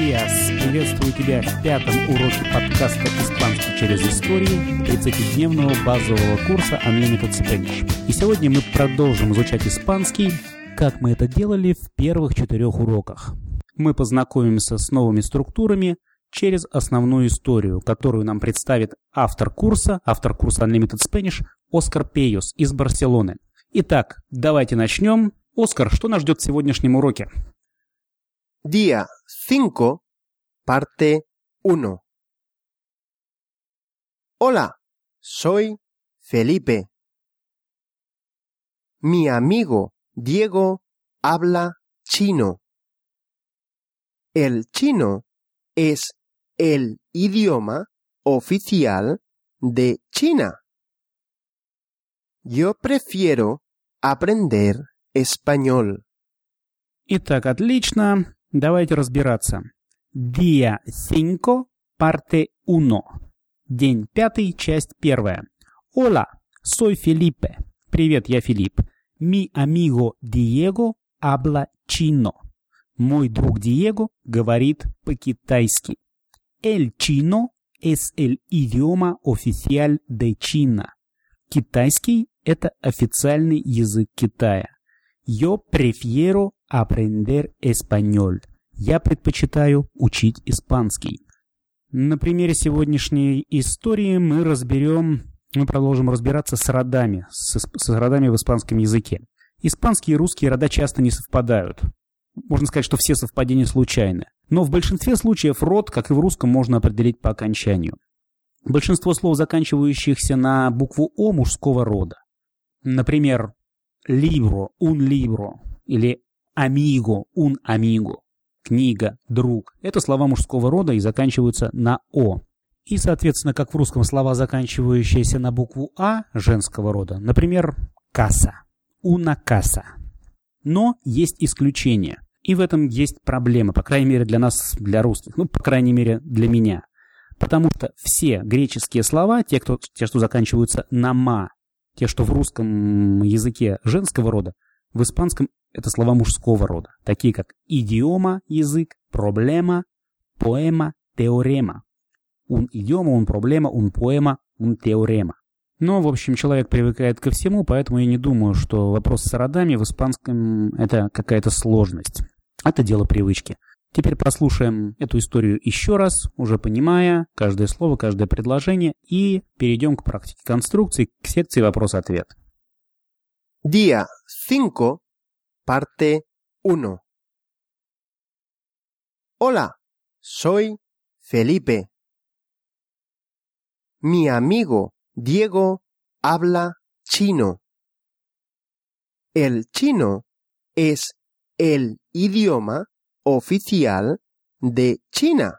Диас! Приветствую тебя в 5-м уроке подкаста «Испанский через историю» 30-дневного базового курса Unlimited Spanish. И сегодня мы продолжим изучать испанский, как мы это делали в первых 4 уроках. Мы познакомимся с новыми структурами через основную историю, которую нам представит автор курса Unlimited Spanish Оскар Пейос из Барселоны. Итак, давайте начнем. Оскар, что нас ждет в сегодняшнем уроке? Día 5, parte 1. Hola, soy Felipe. Mi amigo Diego habla chino. El chino es el idioma oficial de China. Yo prefiero aprender español. Итак, отлично. Давайте разбираться. Día 5, parte 1. День 5, часть 1. Hola, soy Felipe. Привет, я Филипп. Mi amigo Diego habla chino. Мой друг Диего говорит по-китайски. El chino es el idioma oficial de China. Китайский – это официальный язык Китая. Yo prefiero aprender español. Я предпочитаю учить испанский. На примере сегодняшней истории мы продолжим разбираться с родами, с родами в испанском языке. Испанские и русские рода часто не совпадают. Можно сказать, что все совпадения случайны. Но в большинстве случаев род, как и в русском, можно определить по окончанию. Большинство слов, заканчивающихся на букву «о», мужского рода. Например, libro, un libro, или amigo, un amigo, книга, друг. Это слова мужского рода и заканчиваются на «о». И, соответственно, как в русском, слова, заканчивающиеся на букву «а», женского рода. Например, casa, una casa. Но есть исключения. И в этом есть проблема, по крайней мере для нас, для русских, по крайней мере для меня. Потому что все греческие слова, те, что заканчиваются на «ма», те, что в русском языке женского рода, в испанском это слова мужского рода, такие как идиома, язык, проблема, поэма, теорема. Un idioma, un problema, un poema, un teorema. Но, в общем, человек привыкает ко всему, поэтому я не думаю, что вопрос с родами в испанском это какая-то сложность. Это дело привычки. Теперь прослушаем эту историю еще раз, уже понимая каждое слово, каждое предложение, и перейдем к практике конструкции, к секции вопрос-ответ. Día 5, parte 1. Hola, soy Felipe. Mi amigo Diego habla chino. El chino es el idioma oficial de China.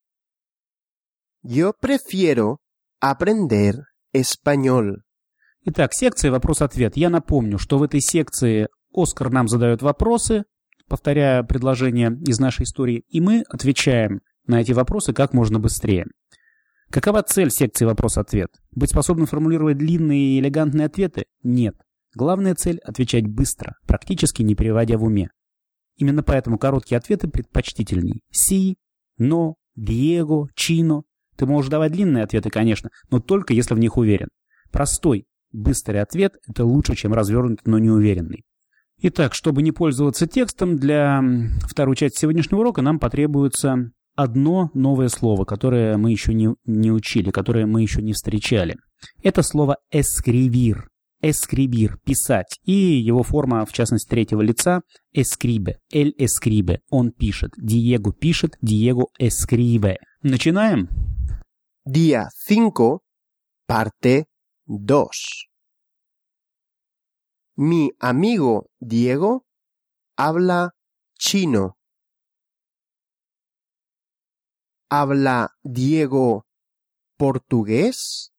Yo prefiero aprender español. Итак, секция вопрос-ответ. Я напомню, что в этой секции Оскар нам задает вопросы, повторяя предложения из нашей истории, и мы отвечаем на эти вопросы как можно быстрее. Какова цель секции вопрос-ответ? Быть способным формулировать длинные и элегантные ответы? Нет. Главная цель – отвечать быстро, практически не переводя в уме. Именно поэтому короткие ответы предпочтительней. Си, но, Диего, чино. Ты можешь давать длинные ответы, конечно, но только если в них уверен. Простой, быстрый ответ – это лучше, чем развернутый, но неуверенный. Итак, чтобы не пользоваться текстом, для второй части сегодняшнего урока нам потребуется одно новое слово, которое мы еще не учили, которое мы еще не встречали. Это слово «escribir». Escribir – писать. И его форма, в частности, третьего лица – escribe. Él escribe. Он пишет. Диего пишет. Диего escribe. Начинаем? Día 5, parte 2. Mi amigo Diego habla chino. ¿Habla Diego portugués?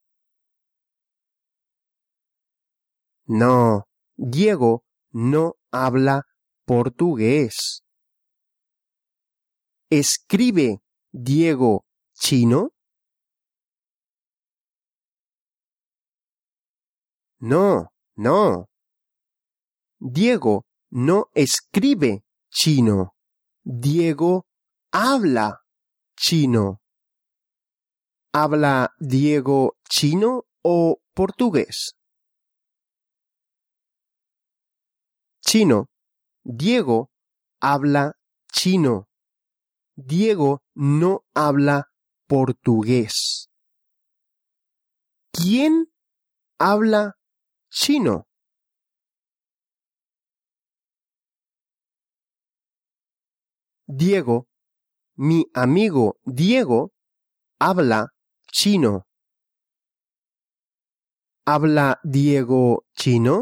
No, Diego no habla portugués. ¿Escribe Diego chino? No, no. Diego no escribe chino. Diego habla chino? ¿Habla Diego chino o portugués? Chino. Diego habla chino. Diego no habla portugués. ¿Quién habla chino? Diego, mi amigo Diego, habla chino. ¿Habla Diego chino?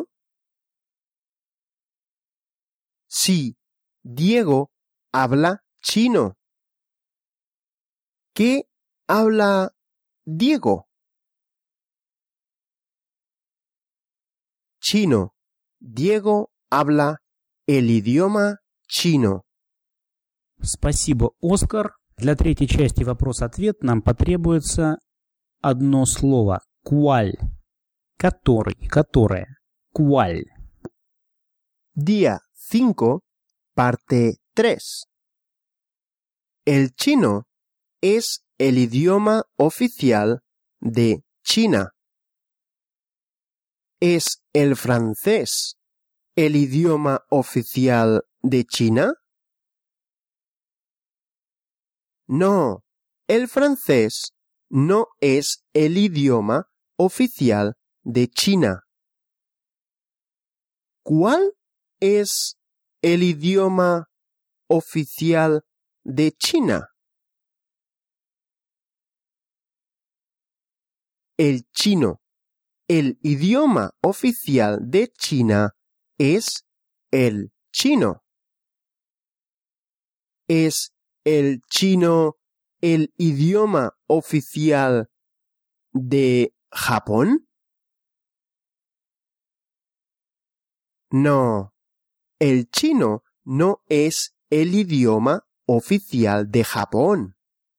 Sí, Diego habla chino. ¿Qué habla Diego? Chino. Diego habla el idioma chino. Спасибо, Оскар. Для третьей части вопрос-ответ нам потребуется одно слово. ¿Cuál? Который, которая. ¿Cuál? Día 5, parte 3. El chino es el idioma oficial de China. ¿Es el francés el idioma oficial de China? No, el francés no es el idioma oficial de China. ¿Cuál es el idioma oficial de China? El chino. El idioma oficial de China es el chino. ¿Es el chino el idioma oficial de Japón? No, el chino no es el idioma oficial de Japón.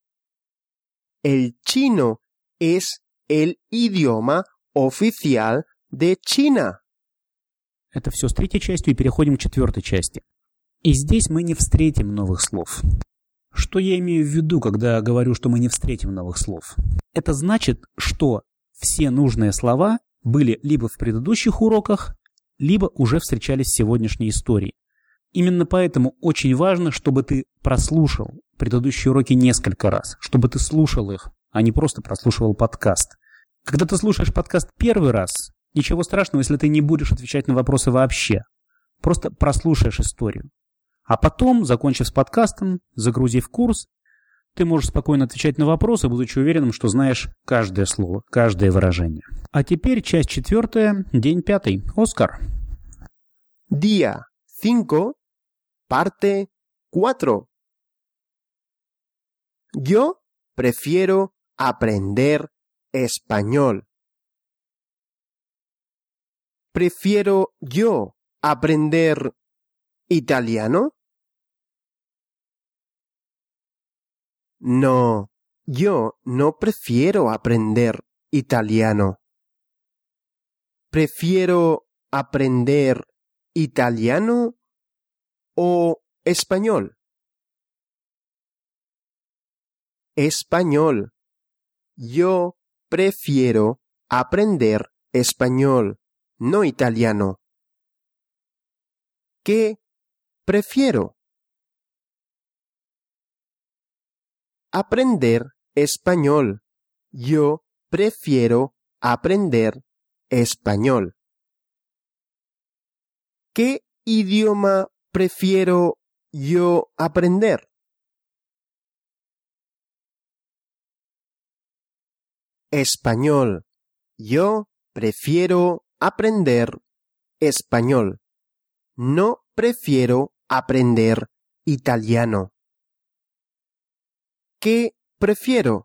El chino es el idioma oficial de China. Это все с третьей частью, и переходим к четвертой части. И здесь мы не встретим новых слов. Что я имею в виду, когда говорю, что мы не встретим новых слов? Это значит, что все нужные слова были либо в предыдущих уроках, либо уже встречались в сегодняшней истории. Именно поэтому очень важно, чтобы ты прослушал предыдущие уроки несколько раз, чтобы ты слушал их, а не просто прослушивал подкаст. Когда ты слушаешь подкаст первый раз, ничего страшного, если ты не будешь отвечать на вопросы вообще. Просто прослушаешь историю. А потом, закончив с подкастом, загрузив курс, ты можешь спокойно отвечать на вопросы, будучи уверенным, что знаешь каждое слово, каждое выражение. А теперь часть 4, день 5. Оскар. Día 5, parte 4. Yo prefiero aprender español. ¿Prefiero yo aprender italiano? No, yo no prefiero aprender italiano. ¿Prefiero aprender italiano o español? Español. Yo prefiero aprender español, no italiano. ¿Qué prefiero? Aprender español. Yo prefiero aprender español. ¿Qué idioma prefiero yo aprender? Español. Yo prefiero aprender español. No prefiero aprender italiano. ¿Qué prefiero?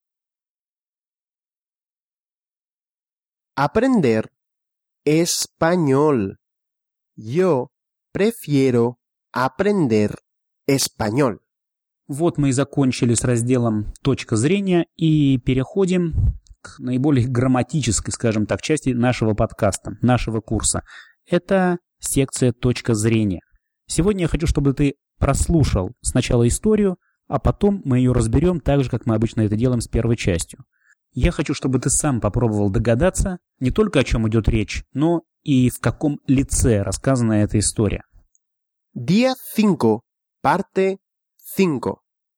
Aprender español. Yo prefiero aprender español. Вот мы и закончили с разделом «Точка зрения» и переходим к наиболее грамматической, скажем так, части нашего подкаста, нашего курса. Это секция «Точка зрения». Сегодня я хочу, чтобы ты прослушал сначала историю, а потом мы ее разберем так же, как мы обычно это делаем с первой частью. Я хочу, чтобы ты сам попробовал догадаться не только о чем идет речь, но и в каком лице рассказана эта история. Día 5, parte 5.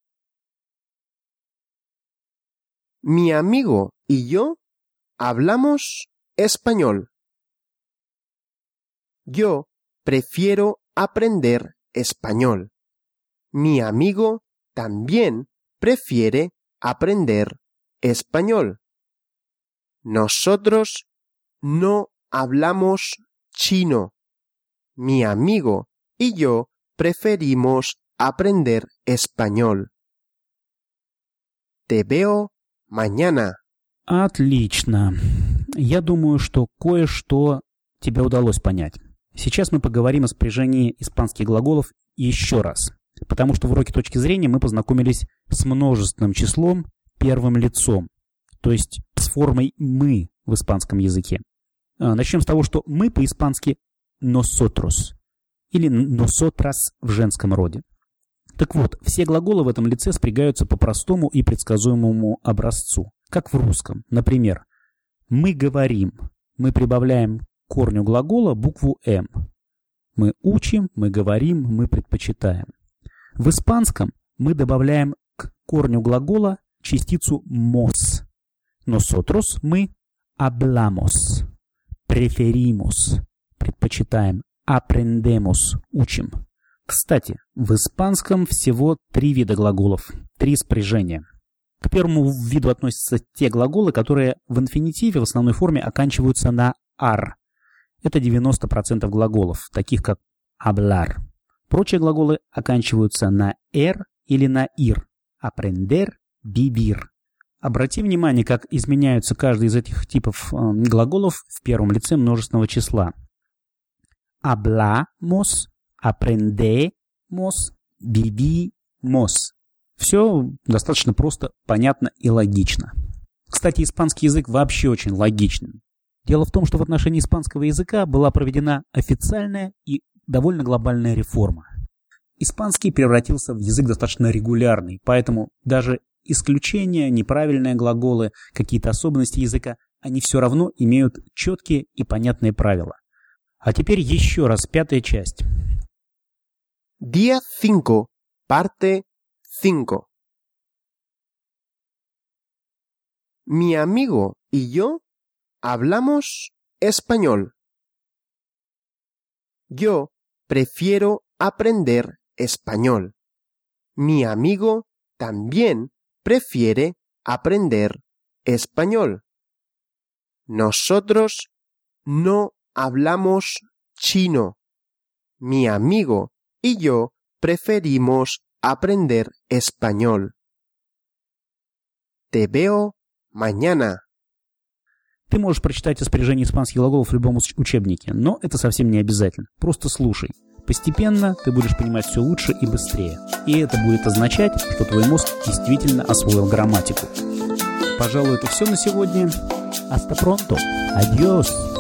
Mi amigo y yo hablamos español. Yo prefiero aprender español. Mi amigo también prefiere aprender español. Nosotros no hablamos chino. Mi amigo y yo preferimos aprender español. Te veo mañana. Отлично. Я думаю, что кое-что тебе удалось понять. Сейчас мы поговорим о спряжении испанских глаголов еще раз. Потому что в уроке точки зрения мы познакомились с множественным числом первым лицом. То есть с формой «мы» в испанском языке. Начнем с того, что «мы» по-испански «nosotros» или «nosotras» в женском роде. Так вот, все глаголы в этом лице спрягаются по простому и предсказуемому образцу, как в русском. Например, «мы говорим», мы прибавляем к корню глагола букву «м». Мы учим, мы говорим, мы предпочитаем. В испанском мы добавляем к корню глагола частицу «mos». Nosotros – мы, hablamos, preferimos, предпочитаем, aprendemos, учим. Кстати, в испанском всего 3 вида глаголов, 3 спряжения. К первому виду относятся те глаголы, которые в инфинитиве в основной форме оканчиваются на «ар». Это 90% глаголов, таких как hablar. Прочие глаголы оканчиваются на «р» или на «ир». Aprender, vivir. Обрати внимание, как изменяются каждый из этих типов глаголов в первом лице множественного числа. Hablamos, aprendemos, vivimos. Все достаточно просто, понятно и логично. Кстати, испанский язык вообще очень логичный. Дело в том, что в отношении испанского языка была проведена официальная и довольно глобальная реформа. Испанский превратился в язык достаточно регулярный, поэтому даже исключения, неправильные глаголы, какие-то особенности языка, они все равно имеют четкие и понятные правила. А теперь еще раз 5-я часть. Día 5, parte 5. Mi amigo y yo hablamos español. Yo prefiero aprender español. Mi amigo también prefiere aprender español. Nosotros no hablamos chino. Mi amigo y yo preferimos aprender español. Te veo mañana. Ты можешь прочитать о спряжении испанских глаголов в любом учебнике, но это совсем не обязательно. Просто слушай. Постепенно ты будешь понимать все лучше и быстрее. И это будет означать, что твой мозг действительно освоил грамматику. Пожалуй, это все на сегодня. Hasta pronto. Adiós.